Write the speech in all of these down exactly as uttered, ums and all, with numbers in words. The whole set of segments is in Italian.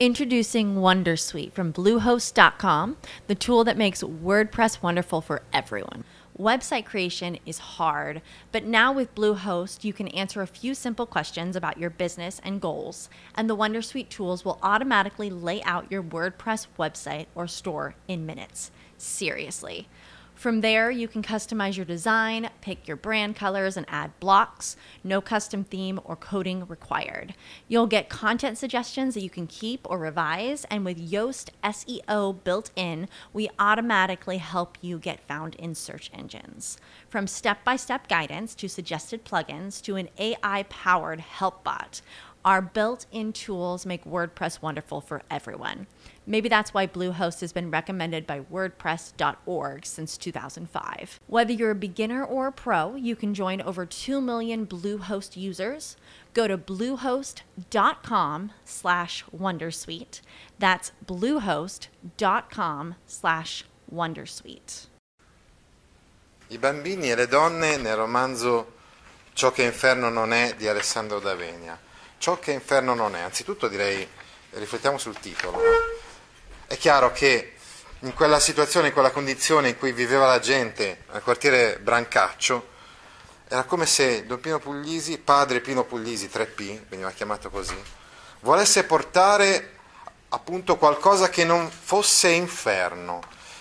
Introducing Wondersuite from Bluehost dot com, the tool that makes WordPress wonderful for everyone. Website creation is hard, but now with Bluehost, you can answer a few simple questions about your business and goals, and the Wondersuite tools will automatically lay out your WordPress website or store in minutes. Seriously. From there, you can customize your design, pick your brand colors, and add blocks. No custom theme or coding required. You'll get content suggestions that you can keep or revise, and with Yoast S E O built in, we automatically help you get found in search engines. From step-by-step guidance to suggested plugins to an A I-powered help bot, our built-in tools make WordPress wonderful for everyone. Maybe that's why Bluehost has been recommended by WordPress dot org since two thousand five. Whether you're a beginner or a pro, you can join over two million Bluehost users. Go to bluehost dot com slash wondersuite. That's bluehost dot com slash wondersuite. I bambini e le donne nel romanzo Ciò che inferno non è di Alessandro D'Avenia. Ciò che inferno non è, anzitutto direi, riflettiamo sul titolo. È chiaro che in quella situazione, in quella condizione in cui viveva la gente al quartiere Brancaccio, era come se Don Pino Puglisi, padre Pino Puglisi, tre P, veniva chiamato così, volesse portare appunto qualcosa che non fosse inferno.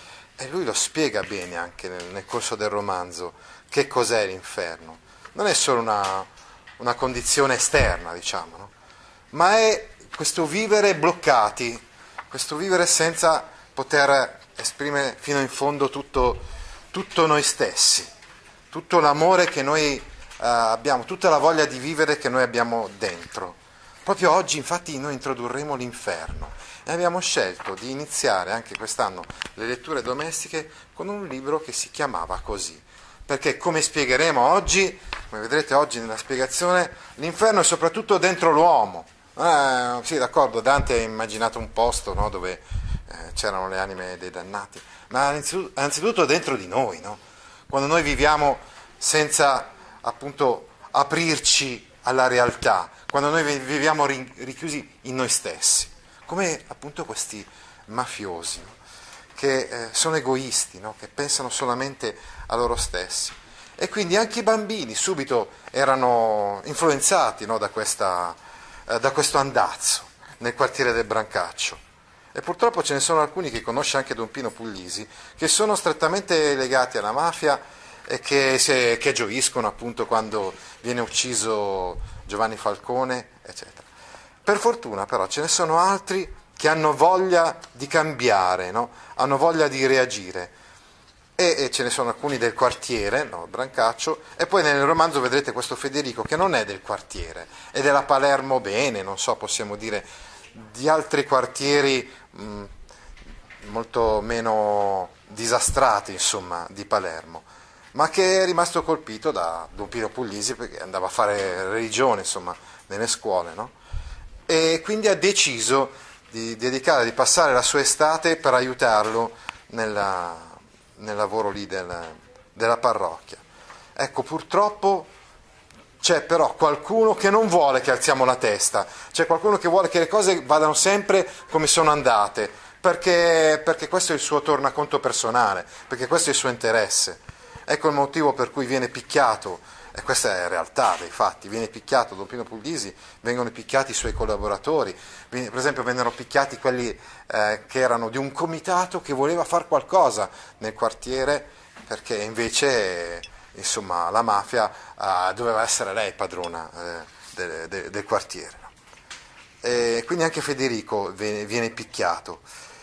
E lui lo spiega bene anche nel, nel corso del romanzo, che cos'è l'inferno. Non è solo una, una condizione esterna, diciamo, no? Ma è questo vivere bloccati, questo vivere senza poter esprimere fino in fondo tutto, tutto noi stessi, tutto l'amore che noi eh, abbiamo, tutta la voglia di vivere che noi abbiamo dentro. Proprio oggi infatti noi introdurremo l'inferno e abbiamo scelto di iniziare anche quest'anno le letture domestiche con un libro che si chiamava così, perché come spiegheremo oggi, come vedrete oggi nella spiegazione, l'inferno è soprattutto dentro l'uomo. Eh, sì, d'accordo, Dante ha immaginato un posto, no, dove eh, c'erano le anime dei dannati, ma anzitutto, anzitutto dentro di noi, no? Quando noi viviamo senza appunto aprirci alla realtà, quando noi viviamo richiusi in noi stessi, come appunto questi mafiosi, no? Che eh, sono egoisti, no? Che pensano solamente a loro stessi. E quindi anche i bambini subito erano influenzati, no, da questa da questo andazzo nel quartiere del Brancaccio. E purtroppo ce ne sono alcuni che conosce anche Don Pino Puglisi, che sono strettamente legati alla mafia e che, se, che gioiscono appunto quando viene ucciso Giovanni Falcone, eccetera. Per fortuna però ce ne sono altri che hanno voglia di cambiare, no? Hanno voglia di reagire. E, e ce ne sono alcuni del quartiere, no, Brancaccio, e poi nel romanzo vedrete questo Federico che non è del quartiere, è della Palermo Bene, non so, possiamo dire, di altri quartieri mh, molto meno disastrati, insomma, di Palermo, ma che è rimasto colpito da Don Pino Puglisi perché andava a fare religione, insomma, nelle scuole, no? E quindi ha deciso di dedicare, di passare la sua estate per aiutarlo nella nel lavoro lì del, della parrocchia. Ecco, purtroppo c'è però qualcuno che non vuole che alziamo la testa, c'è qualcuno che vuole che le cose vadano sempre come sono andate, perché, perché questo è il suo tornaconto personale, perché questo è il suo interesse. Ecco il motivo per cui viene picchiato, e questa è la realtà dei fatti, viene picchiato Don Pino Puglisi, vengono picchiati i suoi collaboratori, per esempio vennero picchiati quelli eh, che erano di un comitato che voleva fare qualcosa nel quartiere, perché invece insomma la mafia eh, doveva essere lei padrona eh, de, de, del quartiere. No? E quindi anche Federico viene, viene picchiato.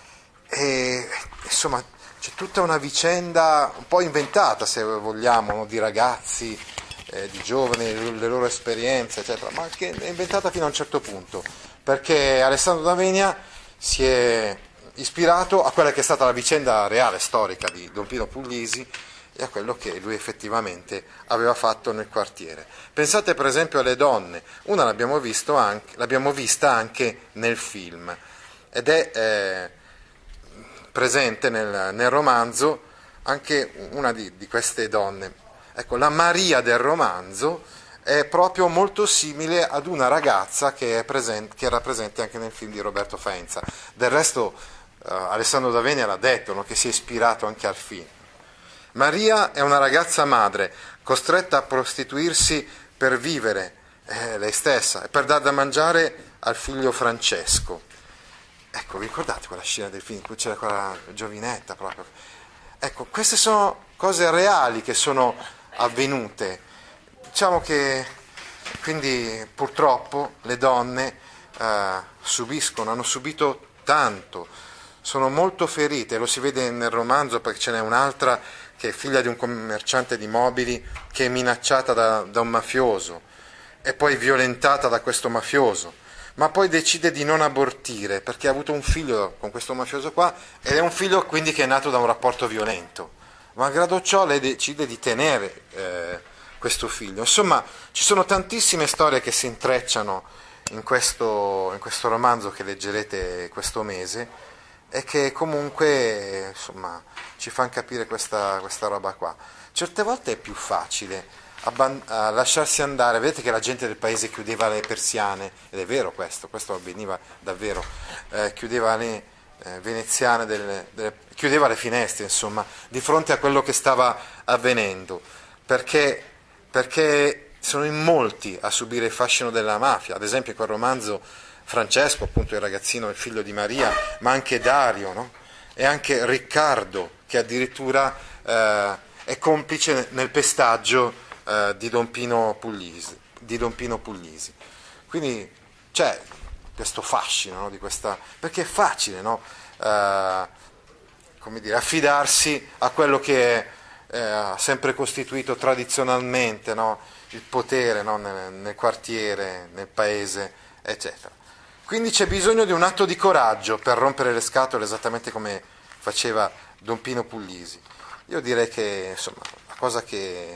E insomma c'è tutta una vicenda un po' inventata, se vogliamo, no? Di ragazzi, Eh, di giovani, le loro esperienze, eccetera, ma che è inventata fino a un certo punto, perché Alessandro D'Avenia si è ispirato a quella che è stata la vicenda reale, storica di Don Pino Puglisi e a quello che lui effettivamente aveva fatto nel quartiere. Pensate per esempio alle donne, una l'abbiamo, visto anche, l'abbiamo vista anche nel film, ed è eh, presente nel, nel romanzo anche una di, di queste donne. Ecco, la Maria del romanzo è proprio molto simile ad una ragazza che è presente, che era presente anche nel film di Roberto Faenza. Del resto uh, Alessandro D'Avenia l'ha detto, no? Che si è ispirato anche al film. Maria è una ragazza madre costretta a prostituirsi per vivere eh, lei stessa e per dar da mangiare al figlio Francesco. Ecco, vi ricordate quella scena del film in cui c'era quella giovinetta proprio? Ecco, queste sono cose reali che sono avvenute. Diciamo che quindi purtroppo le donne eh, subiscono, hanno subito tanto, sono molto ferite, lo si vede nel romanzo perché ce n'è un'altra che è figlia di un commerciante di mobili che è minacciata da, da un mafioso e poi violentata da questo mafioso, ma poi decide di non abortire perché ha avuto un figlio con questo mafioso qua ed è un figlio quindi che è nato da un rapporto violento. Malgrado ciò lei decide di tenere eh, questo figlio. Insomma, ci sono tantissime storie che si intrecciano in questo, in questo romanzo che leggerete questo mese e che comunque insomma ci fanno capire questa, questa roba qua. Certe volte è più facile abban- a lasciarsi andare, vedete che la gente del paese chiudeva le persiane, ed è vero questo, questo avveniva davvero, eh, chiudeva le eh, veneziane, delle, delle, chiudeva le finestre insomma, di fronte a quello che stava avvenendo, perché perché sono in molti a subire il fascino della mafia. Ad esempio in quel romanzo Francesco, appunto il ragazzino, il figlio di Maria, ma anche Dario, no? E anche Riccardo, che addirittura eh, è complice nel pestaggio eh, di Don Pino Puglisi, di Don Pino Puglisi. Quindi c'è questo fascino, no? Di questa, perché è facile, no? eh, come dire, affidarsi a quello che è ha eh, sempre costituito tradizionalmente, no? Il potere, no? nel, nel quartiere, nel paese, eccetera. Quindi c'è bisogno di un atto di coraggio per rompere le scatole, esattamente come faceva Don Pino Puglisi. Io direi che insomma, la cosa che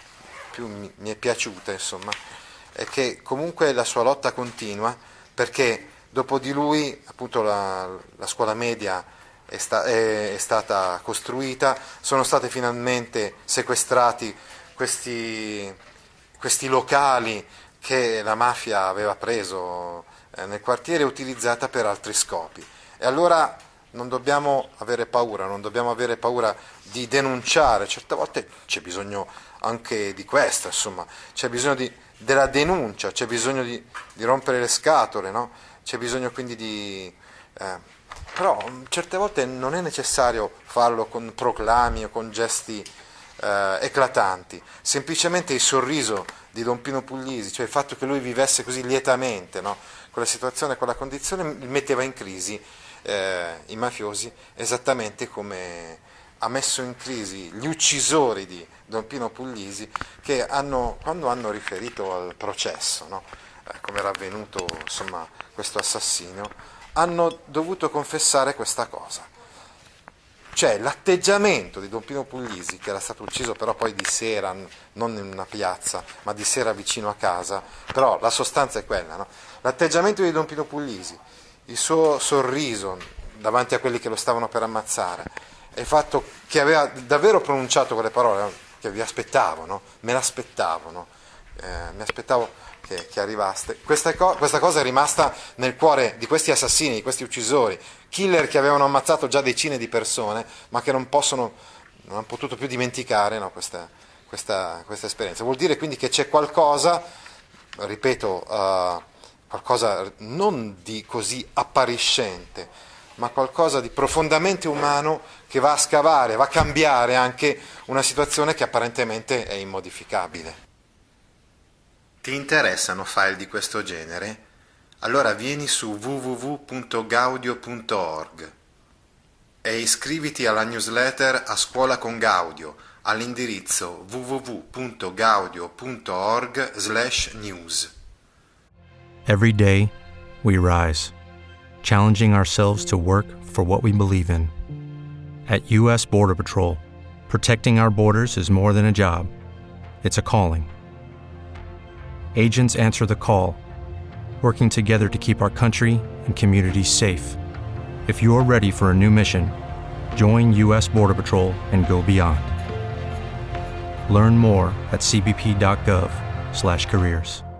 più mi, mi è piaciuta insomma, è che comunque la sua lotta continua, perché dopo di lui appunto la, la scuola media È, sta- è, è stata costruita, sono stati finalmente sequestrati questi, questi locali che la mafia aveva preso eh, nel quartiere e utilizzata per altri scopi. E allora non dobbiamo avere paura, non dobbiamo avere paura di denunciare, certe volte c'è bisogno anche di questo, insomma, c'è bisogno di, della denuncia, c'è bisogno di, di rompere le scatole, no? C'è bisogno quindi di... Eh, Però certe volte non è necessario farlo con proclami o con gesti eh, eclatanti, semplicemente il sorriso di Don Pino Puglisi, cioè il fatto che lui vivesse così lietamente, no? Quella situazione, quella condizione, metteva in crisi eh, i mafiosi, esattamente come ha messo in crisi gli uccisori di Don Pino Puglisi, che hanno, quando hanno riferito al processo, no? eh, come era avvenuto insomma, questo assassinio, hanno dovuto confessare questa cosa. Cioè l'atteggiamento di Don Pino Puglisi, che era stato ucciso però poi di sera, non in una piazza, ma di sera vicino a casa, però la sostanza è quella, no? L'atteggiamento di Don Pino Puglisi, il suo sorriso davanti a quelli che lo stavano per ammazzare, e il fatto che aveva davvero pronunciato quelle parole, che vi aspettavo, no? Me l'aspettavo, no? Eh, mi aspettavo che, che arrivaste. Questa, co- questa cosa è rimasta nel cuore di questi assassini, di questi uccisori, killer che avevano ammazzato già decine di persone, ma che non possono, non hanno potuto più dimenticare, no, questa, questa, questa esperienza. Vuol dire quindi che c'è qualcosa, ripeto, uh, qualcosa non di così appariscente, ma qualcosa di profondamente umano che va a scavare, va a cambiare anche una situazione che apparentemente è immodificabile. Ti interessano file di questo genere? Allora vieni su w w w punto gaudio punto org e iscriviti alla newsletter A Scuola con Gaudio all'indirizzo w w w punto gaudio punto org slash news. Every day, we rise, challenging ourselves to work for what we believe in. At U S Border Patrol, protecting our borders is more than a job. It's a calling. Agents answer the call, working together to keep our country and communities safe. If you're ready for a new mission, join U S Border Patrol and go beyond. Learn more at c b p dot gov slash careers.